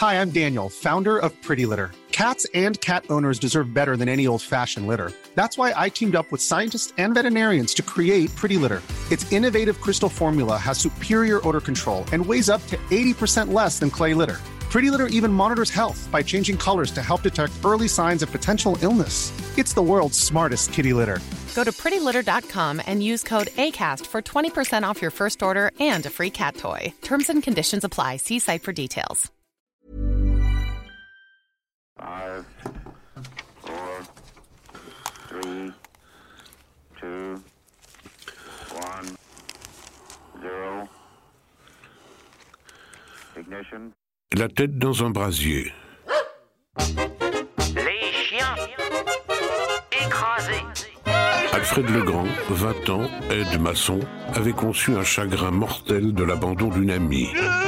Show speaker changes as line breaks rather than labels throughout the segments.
Hi, I'm Daniel, founder of Pretty Litter. Cats and cat owners deserve better than any old-fashioned litter. That's why I teamed up with scientists and veterinarians to create Pretty Litter. Its innovative crystal formula has superior odor control and weighs up to 80% less than clay litter. Pretty Litter even monitors health by changing colors to help detect early signs of potential illness. It's the world's smartest kitty litter.
Go to prettylitter.com and use code ACAST for 20% off your first order and a free cat toy. Terms and conditions apply. See site for details.
5, 4, 3, 2, 1, 0. Ignition.
La tête dans un brasier.
Les chiens écrasés.
Alfred Legrand, 20 ans, aide-maçon, avait conçu un chagrin mortel de l'abandon d'une amie.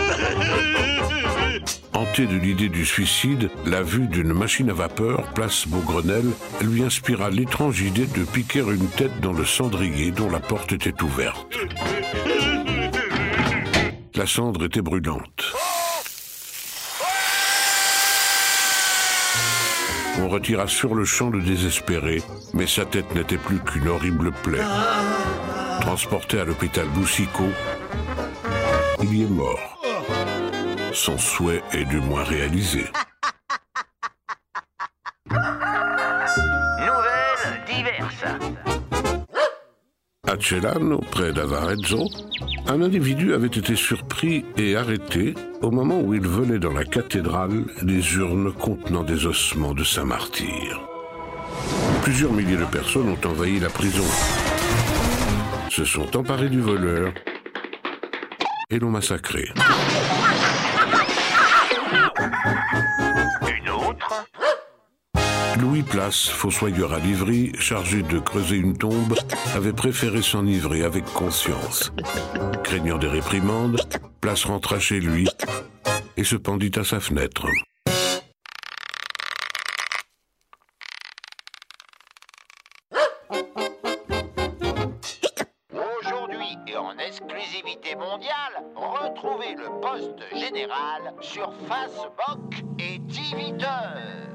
Hanté de l'idée du suicide, la vue d'une machine à vapeur, place Beaugrenelle, lui inspira l'étrange idée de piquer une tête dans le cendrier dont la porte était ouverte. La cendre était brûlante. On retira sur le champ le désespéré, mais sa tête n'était plus qu'une horrible plaie. Transporté à l'hôpital Boucicaut, il y est mort. Son souhait est du moins réalisé.
Nouvelles diverses.
À Celano, près d'Avarezzo, un individu avait été surpris et arrêté au moment où il volait dans la cathédrale des urnes contenant des ossements de saint martyr. Plusieurs milliers de personnes ont envahi la prison, se sont emparés du voleur et l'ont massacré.
Une autre.
Louis Place, fossoyeur à Livry, chargé de creuser une tombe, avait préféré s'enivrer avec conscience. Craignant des réprimandes, Place rentra chez lui et se pendit à sa fenêtre.
Aujourd'hui et en exclusivité mondiale, retrouvez le poste général sur Facebook et Twitter.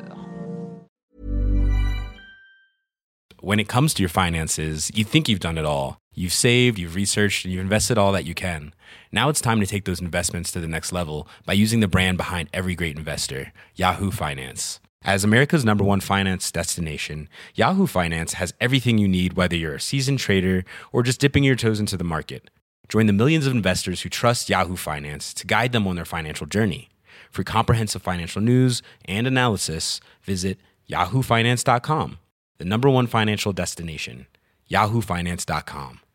When it comes to your finances, you think you've done it all. You've saved, you've researched, and you've invested all that you can. Now it's time to take those investments to the next level by using the brand behind every great investor, Yahoo Finance. As America's #1 finance destination, Yahoo Finance has everything you need, whether you're a seasoned trader or just dipping your toes into the market. Join the millions of investors who trust Yahoo Finance to guide them on their financial journey. For comprehensive financial news and analysis, visit yahoofinance.com. The #1 financial destination, yahoofinance.com.